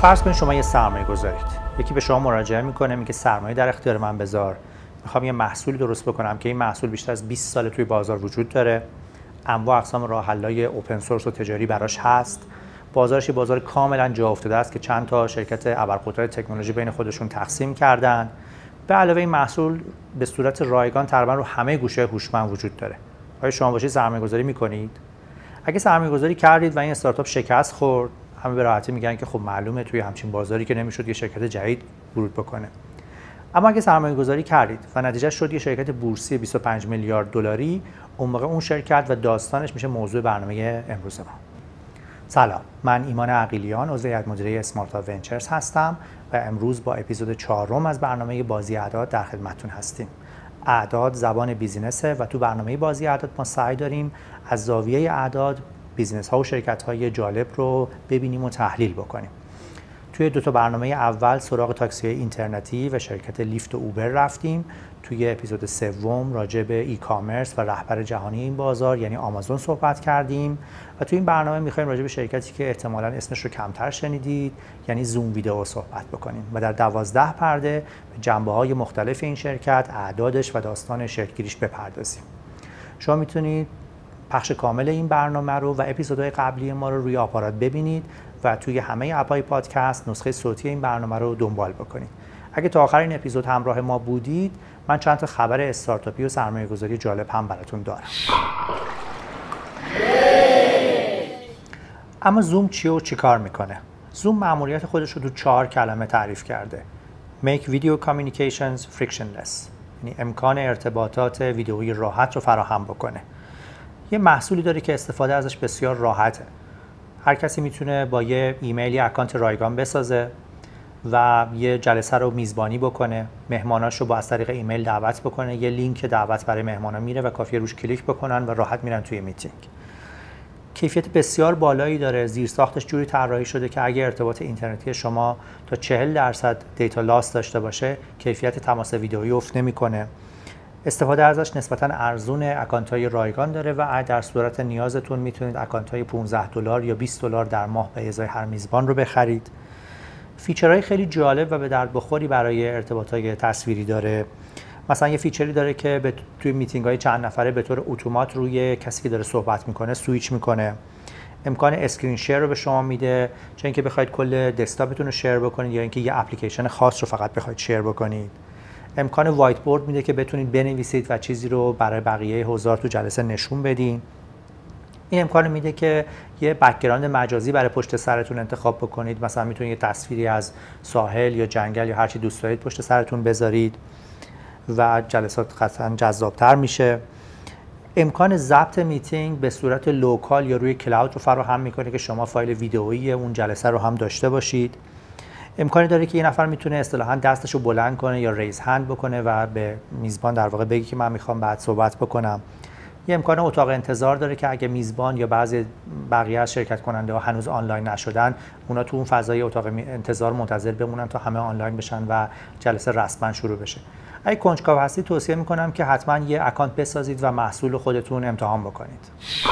فرض کنید شما یه سرمایه گذارید، یکی به شما مراجعه میکنه میگه سرمایه در اختیار من بذار، میخوام یه محصول درست بکنم که این محصول بیشتر از 20 سال توی بازار وجود داره، انواع اقسام راه حل‌های اوپن سورس و تجاری براش هست، بازارش یه بازار کاملا جا افتاده است که چند تا شرکت ابرقدرت تکنولوژی بین خودشون تقسیم کردن. به علاوه این محصول به صورت رایگان تقریبا رو همه گوشه هوشمند وجود داره. آیا شما باشید سرمایه‌گذاری می‌کنید؟ اگه سرمایه‌گذاری کردید و این استارتاپ شکست خورد، همه به راحتی میگن که خب معلومه توی همچین بازاری که نمیشد یه شرکت جدید ورود بکنه. اما اگه سرمایه‌گذاری کردید و نتیجه شد یه شرکت بورسی 25 میلیارد دلاری، اون موقع اون شرکت و داستانش میشه موضوع برنامه امروز ما. سلام، من ایمان عقیلیان، عضو هیئت مدیره اسمارت ونچرز هستم و امروز با اپیزود 4 از برنامه بازی اعداد در خدمتتون هستیم. اعداد زبان بیزینسه و تو برنامه بازی اعداد ما سعی داریم از زاویه اعداد بیزینس ها و شرکت های جالب رو ببینیم و تحلیل بکنیم. توی دو تا برنامه اول سراغ تاکسی اینترنتی و شرکت لیفت و اوبر رفتیم. توی اپیزود سوم راجع به ای کامرس و رهبر جهانی این بازار یعنی آمازون صحبت کردیم و توی این برنامه می‌خوایم راجع به شرکتی که احتمالاً اسمش رو کمتر شنیدید یعنی زوم ویدئو صحبت بکنیم و در 12 پرده به جنبه‌های مختلف این شرکت، اعدادش و داستان شکل‌گیریش بپردازیم. شما میتونید پخش کامل این برنامه رو و اپیزودهای قبلی ما رو روی آپارات ببینید و توی همه اپ‌های پادکست نسخه صوتی این برنامه رو دنبال بکنید. اگه تا آخر این اپیزود همراه ما بودید، من چند تا خبر استارتاپی و سرمایه‌گذاری جالب هم براتون دارم. اما زوم چیه و چی کار میکنه؟ زوم مأموریت خودش رو تو 4 کلمه تعریف کرده. Make video communications frictionless، یعنی امکان ارتباطات ویدئویی راحت رو فراهم بکنه. یه محصولی داره که استفاده ازش بسیار راحته. هر کسی میتونه با یه ایمیلی اکانت رایگان بسازه و یه جلسه رو میزبانی بکنه، مهماناش رو با از طریق ایمیل دعوت بکنه، یه لینک دعوت برای مهمانا میره و کافیه روش کلیک بکنن و راحت میرن توی میتینگ. کیفیت بسیار بالایی داره، زیرساختش جوری طراحی شده که اگه ارتباط اینترنتی شما تا 40% دیتا لاس داشته باشه، کیفیت تماس ویدئویی افت نمیکنه. استفاده ازش نسبتاً ارزون، اکانت‌های رایگان داره و در صورت نیازتون میتونید اکانت‌های $15 یا $20 در ماه به ازای هر میزبان رو بخرید. فیچرهای خیلی جالب و به درد بخوری برای ارتباطات تصویری داره. مثلا یه فیچری داره که توی میتینگ‌های چند نفره به طور اتومات روی کسی که داره صحبت میکنه سویچ میکنه. امکان اسکرین شیر رو به شما میده، چه اینکه بخواید کل دسکتاپتون رو شیر بکنید یا اینکه یه اپلیکیشن خاص رو فقط بخواید شیر بکنید. امکان وایت بورد میده که بتونید بنویسید و چیزی رو برای بقیه حضار تو جلسه نشون بدین. این امکان میده که یه بک‌گراند مجازی برای پشت سرتون انتخاب بکنید. مثلا میتونید یه تصویری از ساحل یا جنگل یا هر چی دوست دارید پشت سرتون بذارید و جلسات قطعاً جذاب‌تر میشه. امکان ضبط میتینگ به صورت لوکال یا روی کلاود رو فراهم میکنه که شما فایل ویدئویی اون جلسه رو هم داشته باشید. امکانی داره که یه نفر میتونه اصطلاحاً دستشو بلند کنه یا ریز هند بکنه و به میزبان در واقع بگه که من میخوام بعد صحبت بکنم. یه امکان اتاق انتظار داره که اگه میزبان یا بعضی بقیه از شرکت کننده ها هنوز آنلاین نشدن، اونا تو اون فضای اتاق انتظار منتظر بمونن تا همه آنلاین بشن و جلسه رسما شروع بشه. اگه کنجکاو هستید توصیه میکنم که حتما یه اکانت بسازید و محصول خودتون امتحان بکنید.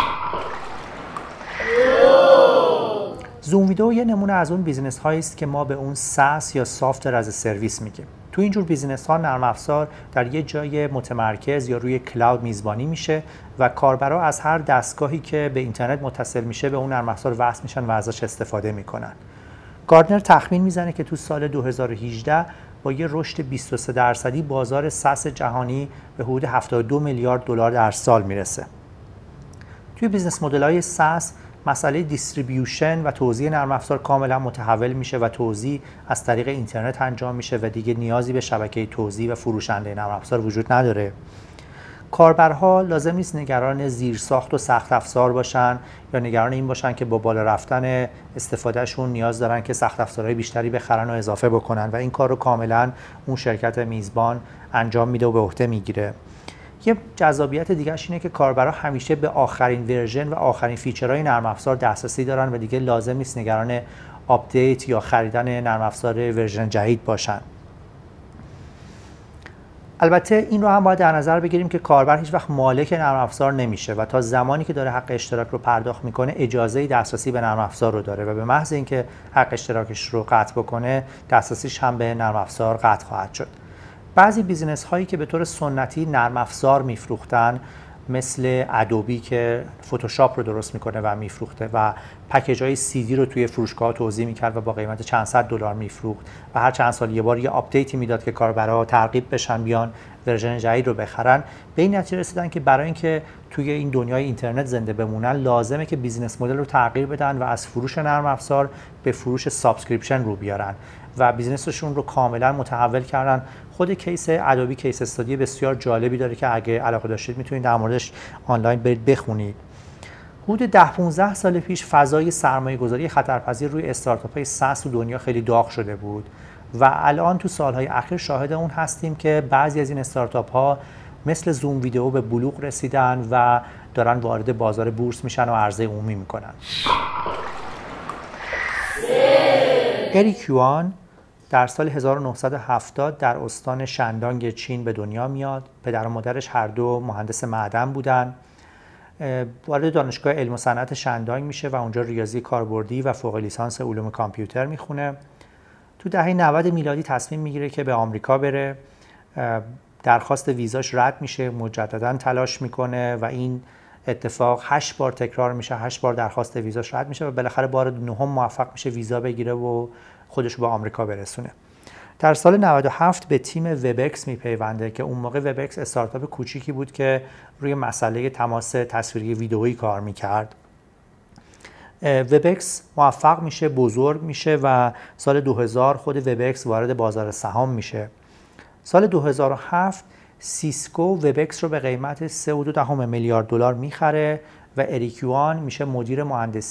زوم ویدئو یه نمونه از اون بیزینس هایی است که ما به اون SaaS یا سافتور از سرویس میگیم. تو اینجور بیزینس ها نرم افزار در یه جای متمرکز یا روی کلاود میزبانی میشه و کاربرا از هر دستگاهی که به اینترنت متصل میشه به اون نرم افزار وصل میشن و ازش استفاده میکنن. گاردنر تخمین میزنه که تو سال 2018 با یه رشد 23% بازار ساس جهانی به حدود 72 میلیارد دلار در سال میرسه. توی بیزنس مدل‌های ساس مسئله دیستریبیوشن و توزیع نرم افزار کاملا متحول میشه و توزیع از طریق اینترنت انجام میشه و دیگه نیازی به شبکه توزیع و فروشنده نرم افزار وجود نداره. کاربرها لازم نیست نگران زیرساخت و سخت افزار باشن یا نگران این باشن که با بالا رفتن استفادهشون نیاز دارن که سخت افزارهای بیشتری بخرن و اضافه بکنن و این کار رو کاملا اون شرکت میزبان انجام میده و به عهده میگیره. یه جذابیت دیگه‌اش اینه که کاربرا همیشه به آخرین ورژن و آخرین فیچرهای نرم افزار دسترسی دارن و دیگه لازم نیست نگران آپدیت یا خریدن نرم افزار ورژن جدید باشن. البته این رو هم باید در نظر بگیریم که کاربر هیچ وقت مالک نرم افزار نمیشه و تا زمانی که داره حق اشتراک رو پرداخت میکنه اجازه دسترسی به نرم افزار رو داره و به محض اینکه حق اشتراکش رو قطع بکنه دسترسیش هم به نرم افزار قطع خواهد شد. بعضی بیزینس هایی که به طور سنتی نرم افزار میفروختن مثل ادوبی که فتوشاپ رو درست میکنه و میفروخته و پکیج های CD رو توی فروشگاه توزیع میکرد و با قیمت چند صد دلار میفروخت و هر چند سال یه بار یه آپدیتی میداد که کاربرا ترغیب بشن بیان ورژن جدید رو بخرن. به این نتیجه رسیدن که برای اینکه توی این دنیای اینترنت زنده بمونن لازمه که بیزینس مدل رو تغییر بدن و از فروش نرم افزار به فروش سابسکریپشن رو بیارن و بیزینسشون رو کاملا متحول کردن. خود کیس ادوبی کیس استادی بسیار جالبی داره که اگه علاقه داشتید میتونید در موردش آنلاین برید بخونید. حدود 10-15 سال پیش فضای سرمایه‌گذاری خطرپذیر روی استارتاپ‌های ساس تو دنیا خیلی داغ شده بود و الان تو سالهای اخیر شاهد اون هستیم که بعضی از این استارتاپ‌ها مثل زوم ویدیو به بلوغ رسیدن و دارن وارد بازار بورس میشن و عرضه عمومی میکنن. اریک یوان در سال 1970 در استان شندانگ چین به دنیا میاد. پدر و مادرش هر دو مهندس معدن بودن. وارد دانشگاه علم و صنعت شندانگ میشه و اونجا ریاضی کاربردی و فوق لیسانس علوم کامپیوتر میخونه. تو دهه 90 میلادی تصمیم میگیره که به آمریکا بره. درخواست ویزاش رد میشه، مجددا تلاش میکنه و این اتفاق 8 بار تکرار میشه، 8 بار درخواست ویزاش رد میشه و بالاخره بار نهم موفق میشه ویزا بگیره و خودش رو به آمریکا برسونه. در سال 97 به تیم وبکس میپیونده که اون موقع وبکس استارتاپ کوچیکی بود که روی مسئله تماس تصویری ویدئویی کار میکرد. وبکس موفق میشه، بزرگ میشه و سال 2000 خود وبکس وارد بازار سهام میشه. سال 2007 سیسکو وبکس رو به قیمت 3.2 میلیارد دلار میخره و اریک یوان میشه مدیر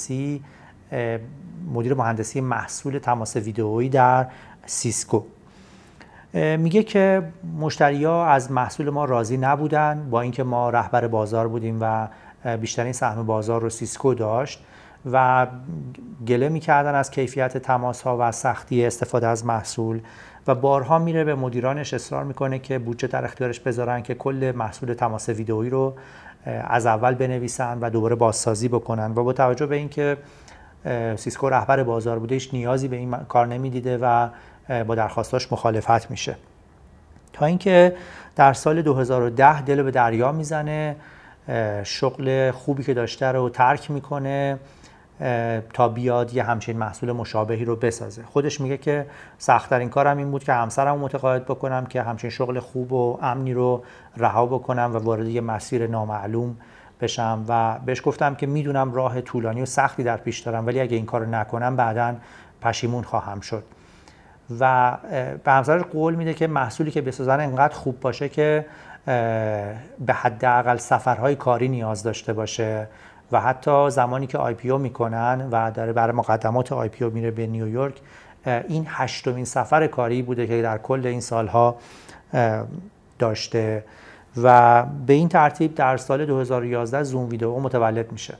مهندسی محصول تماس ویدئویی در سیسکو. میگه که مشتری‌ها از محصول ما راضی نبودن، با اینکه ما رهبر بازار بودیم و بیشترین سهم بازار رو سیسکو داشت و گله میکردن از کیفیت تماس‌ها و سختی استفاده از محصول و بارها میره به مدیرانش اصرار میکنه که بودجه در اختیارش بذارن که کل محصول تماس ویدئویی رو از اول بنویسن و دوباره بازسازی بکنن و با توجه به اینکه سیسکو رهبر بازار بوده هیچ نیازی به این کار نمیدیده و با درخواستاش مخالفت میشه، تا اینکه در سال 2010 دل به دریا میزنه، شغل خوبی که داشته رو ترک میکنه تا بیاد یه همچین محصول مشابهی رو بسازه. خودش میگه که سخت‌ترین کارم این بود که همسرم رو متقاعد بکنم که همچین شغل خوب و امنی رو رها بکنم و وارد یه مسیر نامعلوم بشم و بهش گفتم که میدونم راه طولانی و سختی در پیش دارم ولی اگه این کارو نکنم بعداً پشیمون خواهم شد و به همسرش قول میده که محصولی که بسازن انقدر خوب باشه که به حداقل سفرهای کاری نیاز داشته باشه و حتی زمانی که IPO میکنن و داره برای مقدمات IPO میره به نیویورک، این 8مین سفر کاری بوده که در کل این سالها داشته و به این ترتیب در سال 2011 زوم ویدیو متولد میشه.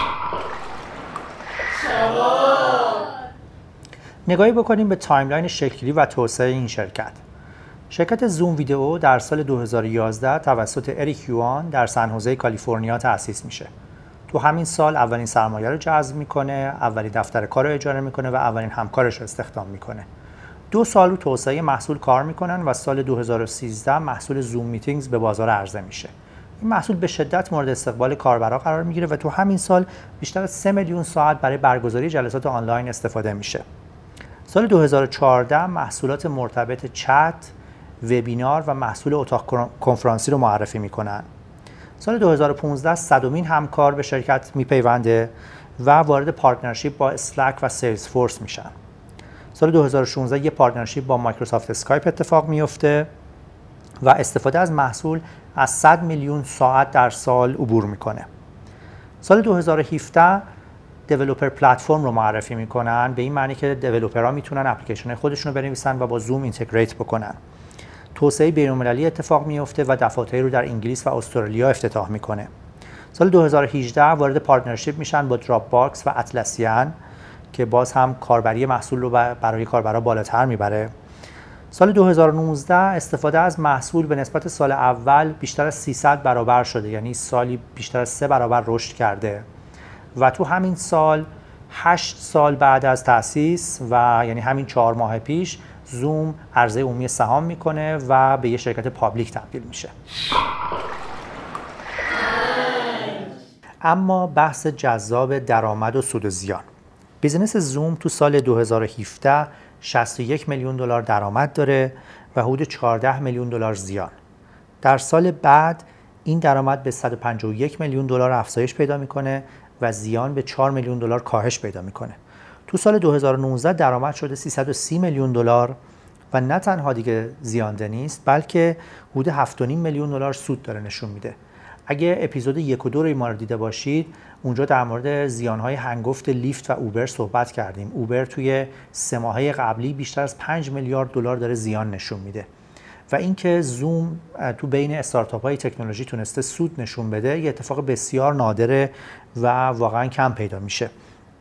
نگاهی بکنیم به تایملاین شکلی و توسعه این شرکت. شرکت زوم ویدیو در سال 2011 توسط اریک یوان در سن کالیفرنیا تأسیس میشه. تو همین سال اولین سرمایه رو جذب میکنه، اولین دفتر کار رو اجاره میکنه و اولین همکارش رو استخدام میکنه. 2 سال رو توسعه محصول کار میکنن و سال 2013 محصول زوم میتینگز به بازار عرضه میشه. این محصول به شدت مورد استقبال کاربرا قرار میگیره و تو همین سال بیشتر از 3 میلیون ساعت برای برگزاری جلسات آنلاین استفاده میشه. سال 2014 محصولات مرتبط چت، وبینار و محصول اتاق کنفرانسی رو معرفی میکنن. سال 2015 صدمین همکار به شرکت میپیونده و وارد پارتنرشیپ با اسلک و سیلز فورس میشن. سال 2016 یه پارتنرشیپ با مایکروسافت اسکایپ اتفاق میفته و استفاده از محصول از 100 میلیون ساعت در سال عبور میکنه. سال 2017 دیولپر پلتفرم رو معرفی میکنن، به این معنی که دیولپرها میتونن اپلیکیشن خودشون رو بنویسن و با زوم اینتگریت بکنن. توسعه بین‌المللی اتفاق میفته و دفاتری رو در انگلیس و استرالیا افتتاح میکنه. سال 2018 وارد پارتنرشیپ میشن با دراپ باکس و اطلسیان که باز هم کاربری محصول رو برای کاربرا بالاتر میبره. سال 2019 استفاده از محصول به نسبت سال اول بیشتر از 300 برابر شده، یعنی سالی بیشتر از 3 برابر رشد کرده و تو همین سال 8 سال بعد از تأسیس و یعنی همین 4 ماه پیش زوم عرضه عمومی سهام میکنه و به یه شرکت پابلیک تبدیل میشه. اما بحث جذاب درآمد و سود و زیان. بیزینس زوم تو سال 2017 61 میلیون دلار درآمد داره و حدود 14 میلیون دلار زیان. در سال بعد این درآمد به 151 میلیون دلار افزایش پیدا میکنه و زیان به 4 میلیون دلار کاهش پیدا میکنه. تو سال 2019 درآمد شده 330 میلیون دلار و نه تنها دیگه زیانده نیست بلکه حدود 7.5 میلیون دلار سود داره نشون میده. اگه اپیزود 1 و 2 رو ما رو دیده باشید، اونجا در مورد زیانهای هنگفت لیفت و اوبر صحبت کردیم. اوبر توی 3 ماهه قبلی بیشتر از 5 میلیارد دلار داره زیان نشون میده و اینکه زوم تو بین استارتاپ‌های تکنولوژی تونسته سود نشون بده یه اتفاق بسیار نادره و واقعا کم پیدا میشه.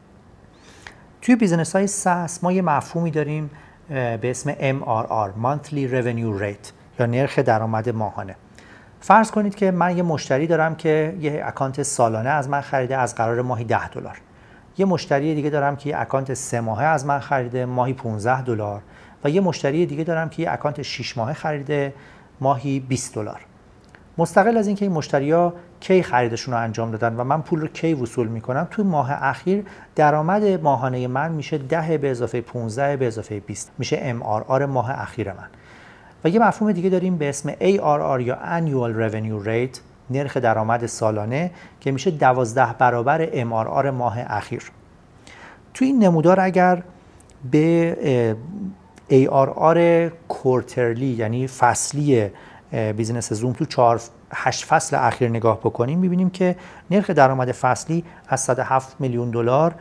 توی بیزنس‌های ساس ما یه مفهومی داریم به اسم MRR Monthly Revenue Rate یا نرخ درآمد ماهانه. فرض کنید که من یه مشتری دارم که یه اکانت سالانه از من خریده از قرار ماهی $10. یه مشتری دیگه دارم که یه اکانت 3 ماهه از من خریده ماهی $15 و یه مشتری دیگه دارم که یه اکانت 6 ماهه خریده ماهی $20. مستقل از اینکه این مشتری‌ها کی خریدشون رو انجام دادن و من پول رو کی وصول میکنم، تو ماه اخیر درآمد ماهانه من میشه 10 به اضافه 15 به اضافه 20 میشه MRR ماه اخیر من. و یه مفهوم دیگه داریم به اسم ARR یا Annual Revenue Rate، نرخ درآمد سالانه که میشه 12 برابر MRR ماه اخیر. تو این نمودار اگر به ARR کوارترلی یعنی فصلی بیزینس زوم تو 8 فصل اخیر نگاه بکنیم، میبینیم که نرخ درآمد فصلی از 107 میلیون دلار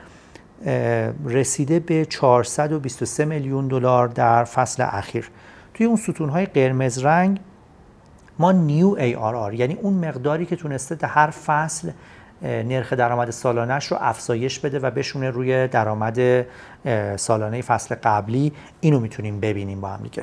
رسیده به 423 میلیون دلار در فصل اخیر. توی اون ستونهای قرمز رنگ ما نیو ARR یعنی اون مقداری که تونسته در هر فصل نرخ درآمد سالانه‌اش رو افزایش بده و بشونه روی درآمد سالانه فصل قبلی، اینو میتونیم ببینیم با هم دیگه.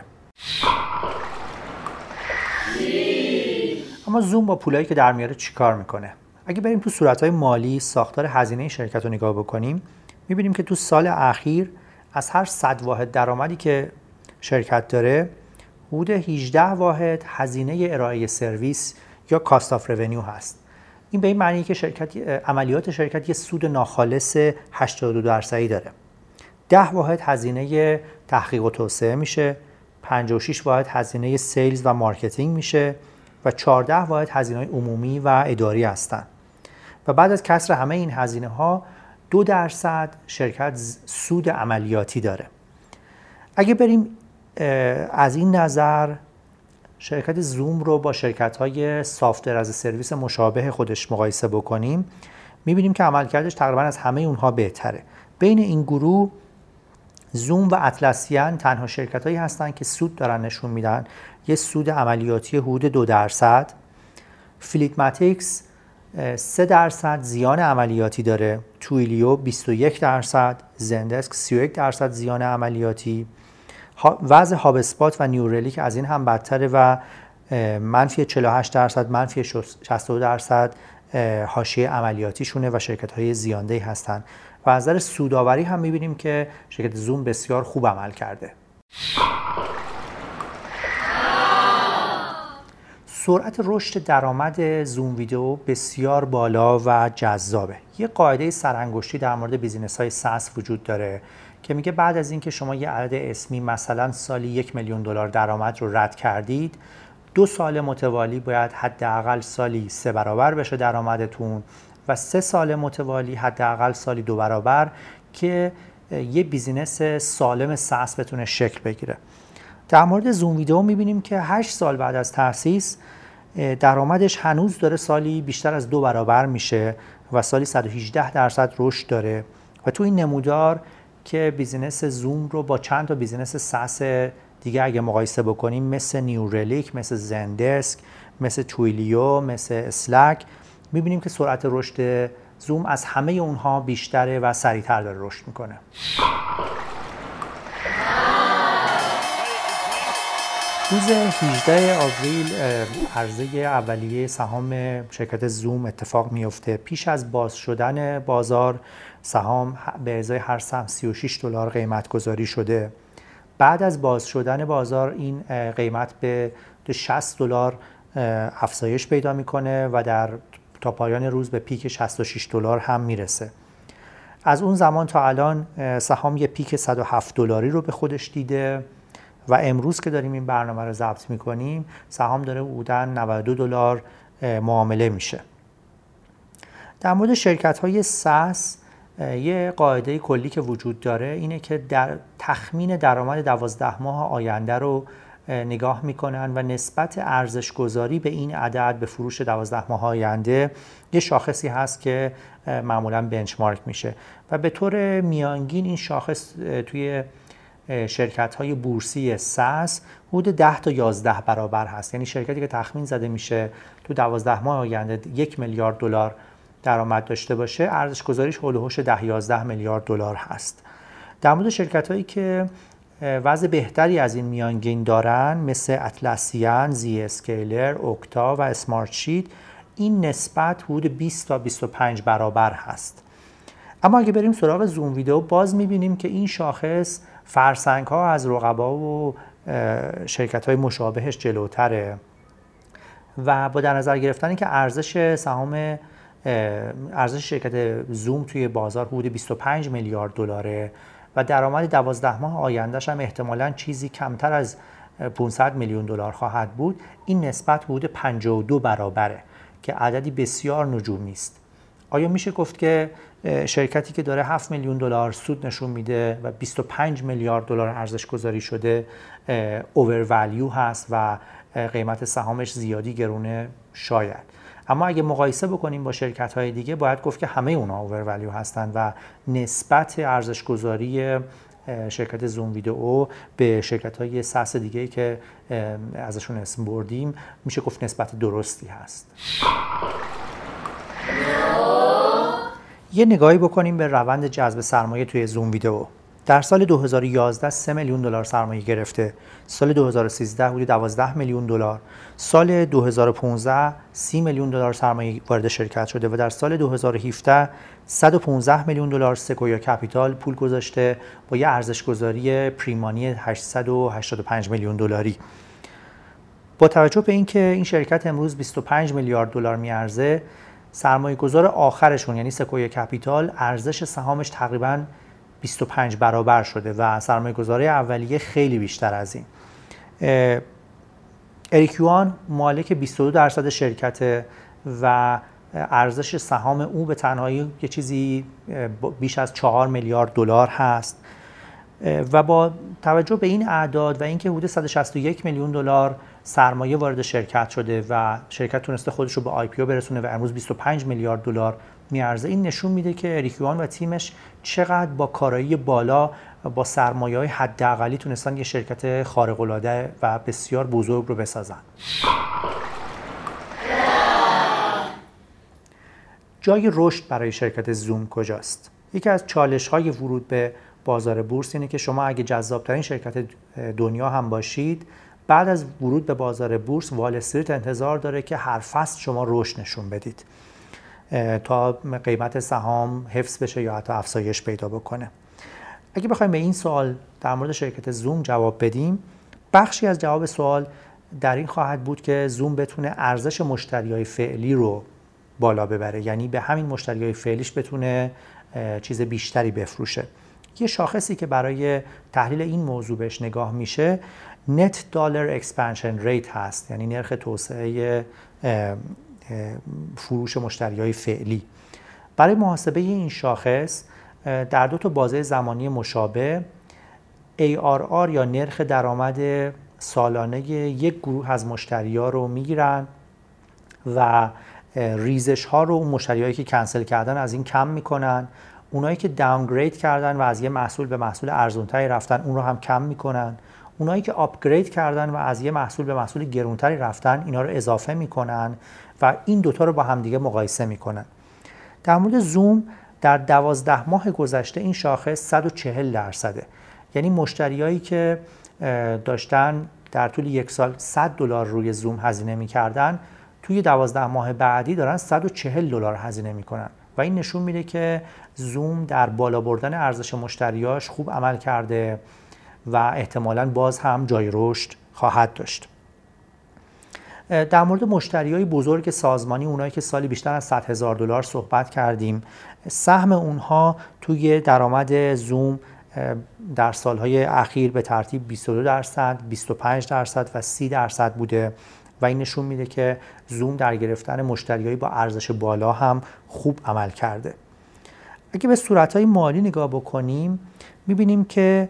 اما زوم با پولایی که در میاره چیکار میکنه؟ اگه بریم تو صورت‌های مالی ساختار هزینه شرکت رو نگاه بکنیم، میبینیم که تو سال اخیر از هر 100 واحد درآمدی که شرکت داره، حدود 18 واحد هزینه ارائه سرویس یا کاست آف رونیو هست. این به این معنیه که عملیات شرکت یه سود ناخالص 82% داره. 10 واحد هزینه تحقیق و توسعه میشه، 56 واحد هزینه سیلز و مارکتینگ میشه و 14 واحد هزینه‌های عمومی و اداری هستن. و بعد از کسر همه این هزینه‌ها 2% شرکت سود عملیاتی داره. اگه بریم از این نظر شرکت زوم رو با شرکت‌های سافت‌ور از سرویس مشابه خودش مقایسه بکنیم، می‌بینیم که عملکردش تقریباً از همه اونها بهتره. بین این گروه زوم و اطلسیان تنها شرکت‌هایی هستن که سود دارن نشون میدن، یه سود عملیاتی حدود 2%. فلیتماتیکس 3% زیان عملیاتی داره، تویلیو 21%، زندسک 31% زیان عملیاتی، وضع هاب اسپات و نیورلیک از این هم بدتره و منفی 48%، منفی 62% حاشیه عملیاتیشونه و شرکت‌های زیاندهی هستن. و از نظر سودآوری هم می‌بینیم که شرکت زوم بسیار خوب عمل کرده. سرعت رشد درآمد زوم ویدیو بسیار بالا و جذابه. یه قاعده سرانگشتی در مورد بیزینس‌های ساس وجود داره که میگه بعد از اینکه شما یه عدد اسمی مثلا سالی 1 میلیون دلار درآمد رو رد کردید، 2 سال متوالی باید حداقل سالی 3 برابر بشه درآمدتون و 3 سال متوالی حداقل سالی 2 برابر که یه بیزینس سالم ساس بتونه شکل بگیره. در مورد زوم ویدیو میبینیم که 8 سال بعد از تأسیس درآمدش هنوز داره سالی بیشتر از 2 برابر میشه و سالی 118% رشد داره. و تو این نمودار که بیزینس زوم رو با چند تا بیزینس ساس دیگه اگه مقایسه بکنیم، مثل نیورلیک، مثل زندسک، مثل تویلیو، مثل اسلک، میبینیم که سرعت رشد زوم از همه اونها بیشتره و سریعتر داره رشد میکنه. روز 18 آوریل عرضه اولیه سهام شرکت زوم اتفاق میفته. پیش از باز شدن بازار سهام به ازای هر سهم $36 قیمت گذاری شده. بعد از باز شدن بازار این قیمت به $60 افزایش پیدا میکنه و تا پایان روز به پیک $66 هم میرسه. از اون زمان تا الان سهام یه پیک $107 رو به خودش دیده و امروز که داریم این برنامه رو ضبط میکنیم سهام داره حدوداً $92 معامله میشه. در مورد شرکت های ساس یه قاعده کلی که وجود داره اینه که در تخمین درآمد 12 ماه آینده رو نگاه میکنن و نسبت ارزش گذاری به این عدد به فروش 12 ماه آینده یه شاخصی هست که معمولاً بنچمارک میشه و به طور میانگین این شاخص توی شرکت های بورسی ساس حدود 10 تا 11 برابر هست. یعنی شرکتی که تخمین زده میشه تو 12 ماه آینده $1 میلیارد درآمد داشته باشه ارزش گذاریش هولوش 10-11 میلیارد دلار هست. در مورد شرکت هایی که وضع بهتری از این میانگین دارن مثل اطلسیان، زی اسکیلر، اوکتا و اسمارت شیت این نسبت حدود 20 تا 25 برابر هست. اما اگه بریم سراغ زوم ویدئو باز میبینیم که این شاخص فرسنگ ها از رقبا و شرکت های مشابهش جلوتره و با در نظر گرفتن که ارزش شرکت زوم توی بازار حدود 25 میلیارد دلاره و درآمد 12 ماه آیندهش هم احتمالاً چیزی کمتر از 500 میلیون دلار خواهد بود، این نسبت حدود 52 برابره که عددی بسیار نجومی است. آیا میشه گفت که شرکتی که داره 7 میلیون دلار سود نشون میده و 25 میلیارد دلار ارزش گذاری شده اوورولیو هست و قیمت سهامش زیادی گرونه؟ شاید. اما اگه مقایسه بکنیم با شرکت‌های دیگه باید گفت که همه اونا اوورولیو هستن و نسبت ارزش گذاری شرکت زوم ویدئو به شرکت‌های ساس دیگه‌ای که ازشون اسم بردیم میشه گفت نسبت درستی هست. یه نگاهی بکنیم به روند جذب سرمایه توی زوم ویدئو. در سال 2011 $3 میلیون سرمایه گرفته، سال 2013 حدود 12 میلیون دلار، سال 2015 $30 میلیون سرمایه وارد شرکت شده و در سال 2017 $115 میلیون سکویا کپیتال پول گذاشته با یه ارزش گذاری پریمانی 885 میلیون دلاری. با توجه به اینکه این شرکت امروز 25 میلیارد دلار میارزه، سرمایه گذار آخرشون یعنی سکویا کپیتال ارزش سهامش تقریباً 25 برابر شده و سرمایه گذاری اولیه خیلی بیشتر از این. اریک یوان مالک 22% شرکت و ارزش سهام او به تنهایی یه چیزی بیش از 4 میلیارد دلار هست و با توجه به این اعداد و اینکه حدود 161 میلیون دلار سرمایه وارد شرکت شده و شرکت تونسته خودش رو به آی پی او برسونه و امروز 25 میلیارد دلار میارزه، این نشون میده که اریک یوان و تیمش چقدر با کارایی بالا با سرمایه‌های حداقلی تونستن یه شرکت خارق‌العاده و بسیار بزرگ رو بسازن. جای رشد برای شرکت زوم کجاست؟ یکی از چالش‌های ورود به بازار بورس اینه که شما اگه جذاب‌ترین شرکت دنیا هم باشید، بعد از ورود به بازار بورس وال استریت انتظار داره که هر فصل شما رشد نشون بدید تا قیمت سهام حفظ بشه یا حتی افزایش پیدا بکنه. اگه بخوایم به این سوال در مورد شرکت زوم جواب بدیم، بخشی از جواب سوال در این خواهد بود که زوم بتونه ارزش مشتریای فعلی رو بالا ببره، یعنی به همین مشتریای فعلیش بتونه چیز بیشتری بفروشه. یه شاخصی که برای تحلیل این موضوع بهش نگاه میشه Net Dollar Expansion Rate هست، یعنی نرخ توسعه فروش مشتریای فعلی. برای محاسبه این شاخص در دو تا بازه زمانی مشابه ARR یا نرخ درآمد سالانه یک گروه از مشتری‌ها رو میگیرن و ریزش ها رو اون مشتریایی که کنسل کردن از این کم میکنن، اونایی که داونگرید کردن و از یه محصول به محصول ارزان‌تری رفتن اون رو هم کم میکنن، اونایی که آپگرید کردن و از یه محصول به محصول گرونتری رفتن اینا رو اضافه میکنن و این دوتا رو با همدیگه مقایسه میکنن. در مورد زوم در 12 ماه گذشته این شاخص 140%، یعنی مشتریایی که داشتن در طول یک سال $100 روی زوم هزینه میکردن، توی 12 ماه بعدی دارن $140 هزینه میکنن و این نشون میده که زوم در بالا بردن ارزش مشتریاش خوب عمل کرده و احتمالاً باز هم جای رشد خواهد داشت. در مورد مشتریای بزرگ سازمانی، اونایی که سالی بیشتر از $100,000 صحبت کردیم، سهم اونها توی درآمد زوم در سالهای اخیر به ترتیب 22%، 25% و 30% بوده و این نشون میده که زوم در گرفتن مشتریایی با ارزش بالا هم خوب عمل کرده. اگه به صورتهای مالی نگاه بکنیم میبینیم که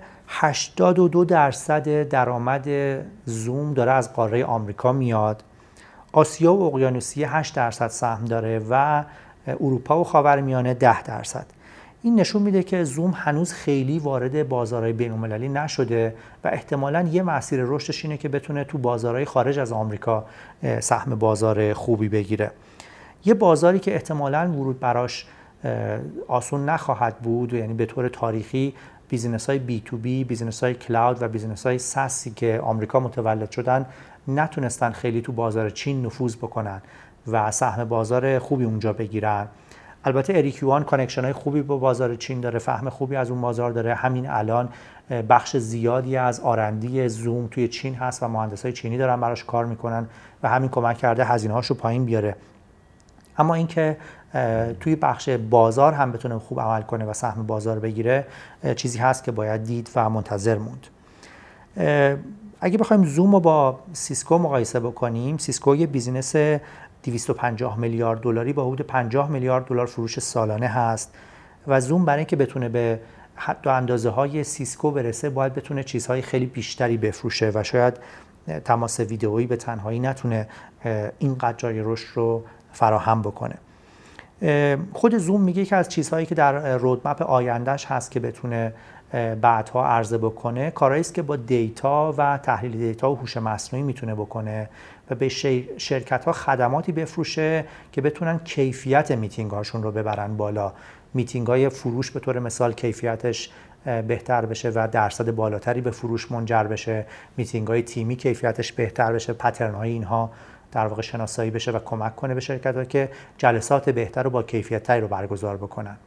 82% درآمد زوم داره از قاره آمریکا میاد، آسیا و اقیانوسیه 8% سهم داره و اروپا و خاورمیانه 10%. این نشون میده که زوم هنوز خیلی وارد بازارهای بین‌المللی نشده و احتمالاً یه مسیر رشدش اینه که بتونه تو بازارهای خارج از آمریکا سهم بازار خوبی بگیره. یه بازاری که احتمالاً ورود براش آسون نخواهد بود، یعنی به طور تاریخی بیزینس‌های بی تو بی، بیزینس‌های کلاود و بیزینس‌های ساسی که آمریکا متولد شدن نتونستن خیلی تو بازار چین نفوذ بکنن و سهم بازار خوبی اونجا بگیرن. البته اریک یوان کانکشن‌های خوبی با بازار چین داره، فهم خوبی از اون بازار داره. همین الان بخش زیادی از آرندی زوم توی چین هست و مهندسای چینی دارن براش کار میکنن و همین کمک کرده هزینه‌هاشو پایین بیاره. اما اینکه توی بخش بازار هم بتونه خوب عمل کنه و سهم بازار بگیره چیزی هست که باید دید و منتظر موند. اگه بخوایم زوم رو با سیسکو مقایسه بکنیم، سیسکو یه بیزینس 250 میلیارد دلاری با حدود 50 میلیارد دلار فروش سالانه هست و زوم برای اینکه بتونه به حد و اندازه های سیسکو برسه باید بتونه چیزهای خیلی بیشتری بفروشه و شاید تماس ویدئویی به تنهایی نتونه اینقدر جای رشد رو فراهم بکنه. خود زوم میگه که از چیزهایی که در رودمپ آیندهش هست که بتونه بعدها عرضه بکنه، کارهایی است که با دیتا و تحلیل دیتا و هوش مصنوعی میتونه بکنه و به شرکت‌ها خدماتی بفروشه که بتونن کیفیت میتینگ هاشون رو ببرن بالا. میتینگ های فروش به طور مثال کیفیتش بهتر بشه و درصد بالاتری به فروش منجر بشه، میتینگ های تیمی کیفیتش بهتر بشه، پترن های اینها در واقع شناسایی بشه و کمک کنه به شرکت‌ها که جلسات بهتر و با کیفیت‌تری رو برگزار بکنن.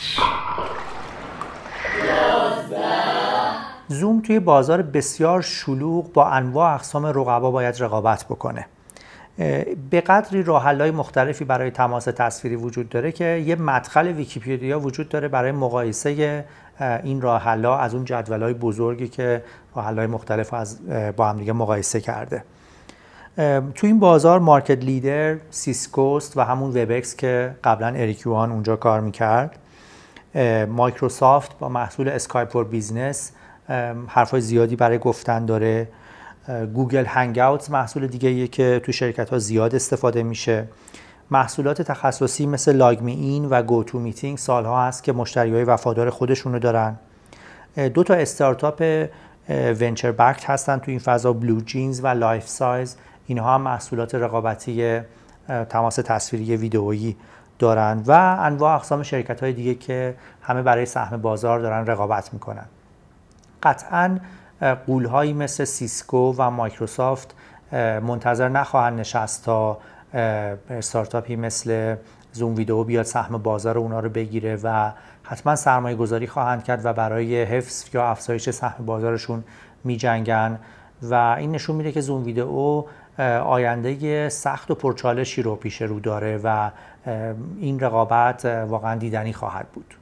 زوم توی بازار بسیار شلوغ با انواع اقسام رقبا باید رقابت بکنه. به قدری راه‌حل‌های مختلفی برای تماس تصویری وجود داره که یه مدخل ویکی‌پدیا وجود داره برای مقایسه این راه‌حل‌ها از اون جدول‌های بزرگی که راه‌حل‌های مختلف با هم دیگه مقایسه کرده. تو این بازار مارکت لیدر سیسکوست و همون وبکس که قبلا اریک یوان اونجا کار میکرد. مایکروسافت با محصول اسکایپ فور بیزنس حرفای زیادی برای گفتن داره. گوگل هنگ اوتس محصول دیگه‌ایه که تو شرکت‌ها زیاد استفاده میشه. محصولات تخصصی مثل لاگ می این و گو تو میتینگ سالها هست که مشتریای وفادار خودشونو دارن. 2 تا استارتاپ ونچر بکت هستن تو این فضا، بلو جینز و لایف سایز. اینها هم محصولات رقابتی تماس تصویری ویدئویی دارن و انواع اقسام شرکت‌های دیگه که همه برای سهم بازار دارن رقابت میکنن. قطعاً غول‌هایی مثل سیسکو و مایکروسافت منتظر نخواهند نشست تا استارتاپی مثل زوم ویدئو بیاد سهم بازار اونا رو بگیره و حتما سرمایه گذاری خواهند کرد و برای حفظ یا افزایش سهم بازارشون می‌جنگن و این نشون میده که زوم ویدئو آینده سخت و پرچالشی رو پیش رو داره و این رقابت واقعا دیدنی خواهد بود.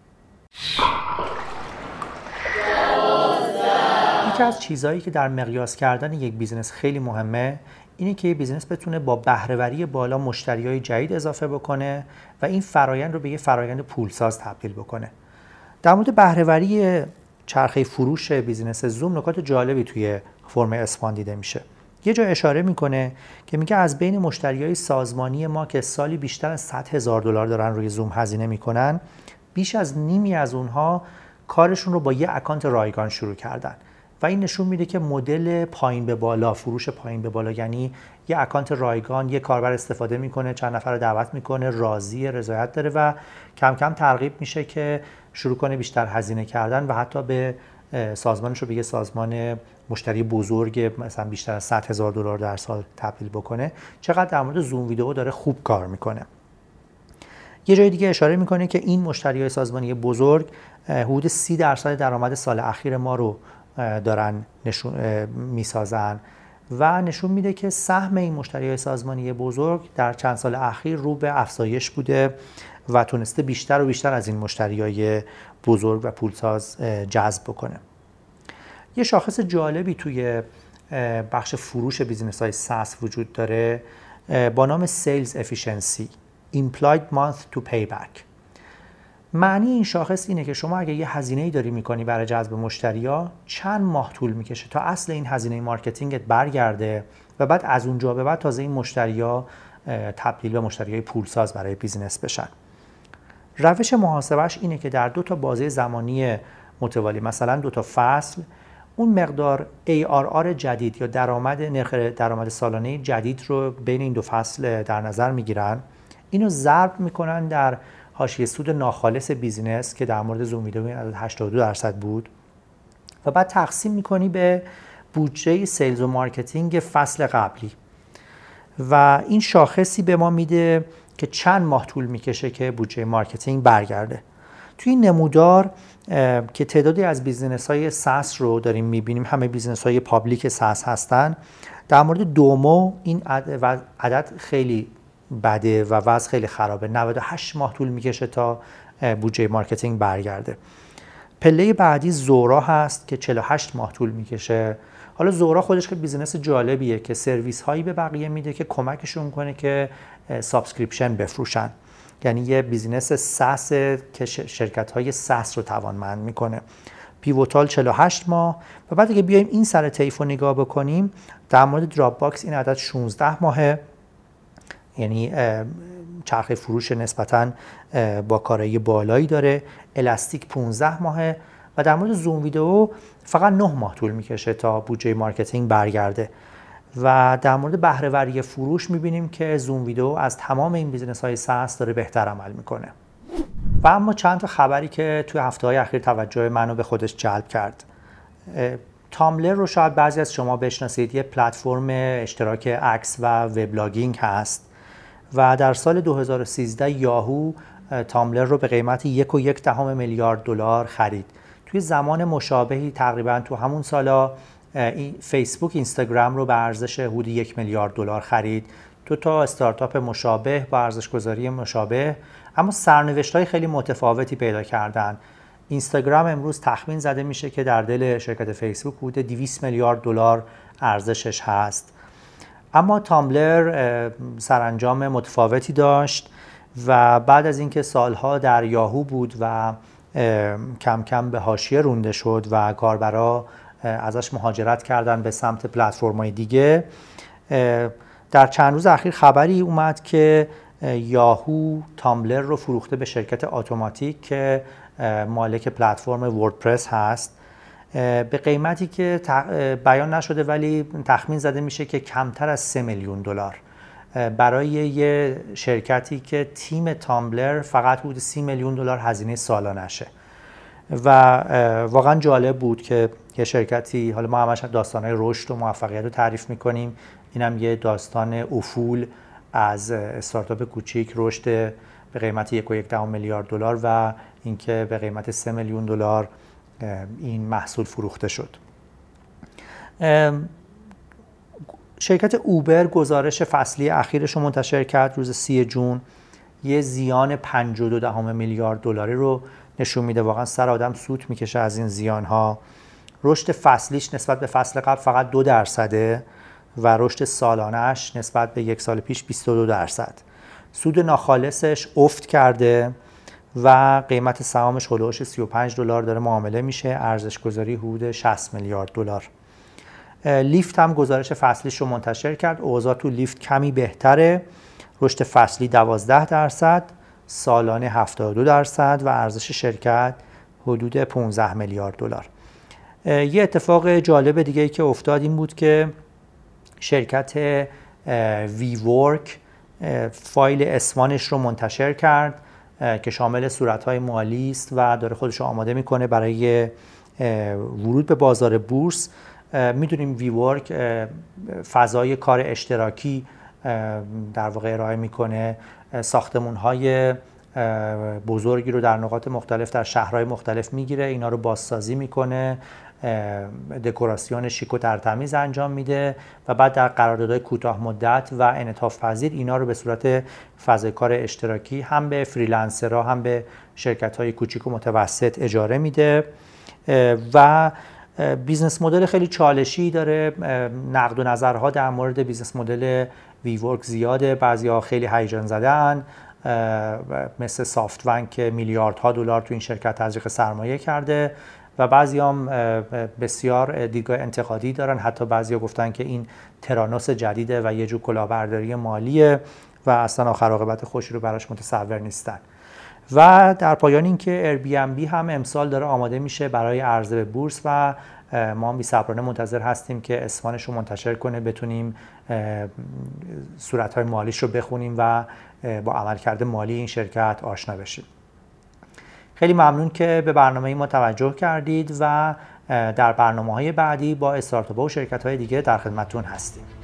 یکی از چیزهایی که در مقیاس کردن یک بیزنس خیلی مهمه اینه که یک بیزنس بتونه با بهره‌وری بالا مشتریای جدید اضافه بکنه و این فرایند رو به یه فرایند پولساز تبدیل بکنه. در مورد بهره‌وری چرخه فروش بیزنس زوم نکات جالبی توی فرم اسپان دیده میشه. یه جا اشاره میکنه که میگه از بین مشتریای سازمانی ما که سالی بیشتر از $100,000 دارن روی زوم هزینه میکنن، بیش از نیمی از اونها کارشون رو با یه اکانت رایگان شروع کردن و این نشون میده که مدل پایین به بالا، فروش پایین به بالا، یعنی یه اکانت رایگان، یه کاربر استفاده میکنه، چند نفر رو دعوت میکنه، راضی، رضایت داره و کم کم ترغیب میشه که شروع کنه بیشتر هزینه کردن و حتی به سازمانش رو به یه سازمان مشتری بزرگ مثلا بیشتر از $100,000 در سال تبدیل بکنه، چقدر در مورد زوم ویدئو داره خوب کار میکنه. یه جای دیگه اشاره میکنه که این مشتریای سازمانی بزرگ حدود 30% درآمد سال اخیر ما رو دارن میسازن و نشون میده که سهم این مشتریای سازمانی بزرگ در چند سال اخیر رو به افزایش بوده و تونسته بیشتر و بیشتر از این مشتریای بزرگ و پولساز جذب بکنه. یه شاخص جالبی توی بخش فروش بیزینس‌های SaaS وجود داره با نام Sales Efficiency Implied Month to Payback. معنی این شاخص اینه که شما اگه یه هزینه‌ای داری می‌کنی برای جذب مشتری‌ها، چند ماه طول می‌کشه تا اصل این هزینه مارکتینگت برگرده و بعد از اونجا به بعد تازه این مشتری‌ها تبدیل به مشتری‌های پولساز برای بیزینس بشن. روش محاسبهش اینه که در 2 تا بازه زمانی متوالی، مثلا 2 تا فصل، اون مقدار ARR جدید یا نرخ درآمد سالانه جدید رو بین این 2 فصل در نظر میگیرن، اینو ضرب میکنن در حاشیه سود ناخالص بیزینس که در مورد زوم ویدئو این عدد 82% بود و بعد تقسیم میکنی به بودجه سیلز و مارکتینگ فصل قبلی و این شاخصی به ما میده که چند ماه طول میکشه که بودجه مارکتینگ برگرده. توی این نمودار که تعدادی از بیزینس‌های SaaS رو داریم میبینیم، همه بیزینس‌های پابلیک SaaS هستن، در مورد دومو این عدد خیلی بده و وضع خیلی خرابه. 98 ماه طول میکشه تا بودجه مارکتینگ برگرده. پله بعدی زورا هست که 48 ماه طول میکشه. حالا زورا خودش که بیزینس جالبیه که سرویس هایی به بقیه میده که کمکشون کنه که سابسکریپشن بفروشن، یعنی یه بیزینس ساس که شرکت های ساس رو توانمند میکنه. پیوتال 48 ماه و بعد اگه بیایم این سر طیف رو نگاه بکنیم، در مورد دراپ باکس این عدد 16 ماهه، یعنی چرخه فروش نسبتاً با کارایی بالایی داره. الاستیک 15 ماهه و در مورد زوم ویدئو فقط 9 ماه طول میکشه تا بودجه مارکتینگ برگرده. و در مورد بهره وری فروش میبینیم که زوم ویدئو از تمام این بیزنس های ساس داره بهتر عمل میکنه. و اما چند تا خبری که توی هفته‌های اخیر توجه منو به خودش جلب کرد. تامبلر رو شاید بعضی از شما بشناسید، یه پلتفرم اشتراک عکس و وبلاگینگ هست و در سال 2013 یاهو تامبلر رو به قیمت 1.1 میلیارد دلار خرید. توی زمان مشابهی تقریبا تو همون سالا فیسبوک اینستاگرام رو به ارزش حدود 1 میلیارد دلار خرید. 2 تا استارتاپ مشابه با ارزش‌گذاری مشابه اما سرنوشت‌های خیلی متفاوتی پیدا کردن. اینستاگرام امروز تخمین زده میشه که در دل شرکت فیسبوک حدود 200 میلیارد دلار ارزشش هست. اما تامبلر سرانجام متفاوتی داشت و بعد از اینکه سالها در یاهو بود و کم کم به حاشیه رونده شد و کاربرا ازش مهاجرت کردن به سمت پلتفرم‌های دیگه، در چند روز اخیر خبری اومد که یاهو تامبلر رو فروخته به شرکت اتوماتیک که مالک پلتفرم وردپرس هست به قیمتی که بیان نشده ولی تخمین زده میشه که کمتر از 3 میلیون دلار برای یه شرکتی که تیم تامبلر فقط حدود 30 میلیون دلار هزینه سالانشه. و واقعا جالب بود که یه شرکتی، حالا ما همش داستانهای رشد و موفقیت رو تعریف میکنیم، اینم یه داستان افول از استارتاپ کوچیک رشد به قیمت 1.1 میلیارد دلار و اینکه به قیمت 3 میلیون دلار این محصول فروخته شد. شرکت اوبر گزارش فصلی اخیرش رو منتشر کرد روز 30 جون. یه زیان 5.2 میلیارد دلاری رو نشون میده. واقعا سر آدم سوت میکشه از این زیانها. رشد فصلیش نسبت به فصل قبل فقط 2% و رشد سالانه‌اش نسبت به یک سال پیش 22%. سود ناخالصش افت کرده و قیمت سهامش هولوش 35 دلار داره معامله میشه. ارزش گذاری حدود 60 میلیارد دلار. لیفت هم گزارش فصلیش رو منتشر کرد. اوضاع تو لیفت کمی بهتره. رشد فصلی 12%، سالانه 72% و ارزش شرکت حدود 15 میلیارد دلار. یه اتفاق جالب دیگه که افتاد این بود که شرکت وی ورک فایل اسمانش رو منتشر کرد که شامل صورت‌های مالی است و داره خودش رو آماده میکنه برای ورود به بازار بورس، میدونیم وی ورک فضای کار اشتراکی در واقع ارائه میکنه، ساختمان‌های بزرگی رو در نقاط مختلف در شهرهای مختلف میگیره، اینا رو بازسازی میکنه، دکوراسیون شیک و ترتمیز انجام میده و بعد در قراردادهای کوتاه مدت و انعطاف پذیر اینا رو به صورت فضای کار اشتراکی هم به فریلنسرها هم به شرکت‌های کوچیک و متوسط اجاره میده و بیزنس مدل خیلی چالشی داره. نقد و نظرها در مورد بیزنس مدل وی ورک زیاده، بعضی‌ها خیلی هیجان زدن، مثل سافت‌بانک که میلیاردها دلار تو این شرکت تزریق سرمایه کرده و بعضی هم بسیار دیدگاه انتقادی دارن، حتی بعضیا گفتن که این ترانوس جدیده و یه جور کلاهبرداری مالیه و اصلا آخر عاقبت خوشی رو براش متصور نیستن. و در پایان اینکه ایربی هم امسال داره آماده میشه برای عرضه به بورس و ما بی‌صبرانه منتظر هستیم که اسمانش رو منتشر کنه، بتونیم صورت‌های مالیش رو بخونیم و با عملکرد مالی این شرکت آشنا بشیم. خیلی ممنون که به برنامه ما توجه کردید و در برنامه‌های بعدی با استارتاپ‌ها و شرکت‌های دیگه در خدمتتون هستیم.